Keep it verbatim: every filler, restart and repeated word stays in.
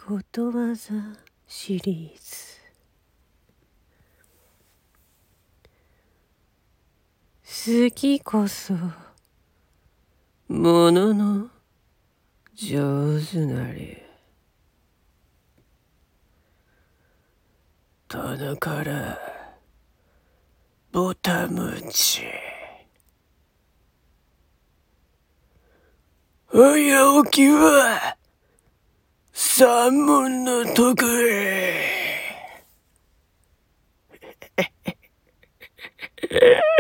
ことわざシリーズ。好きこそものの上手なり。棚からぼたもち。早起きは三文の得意。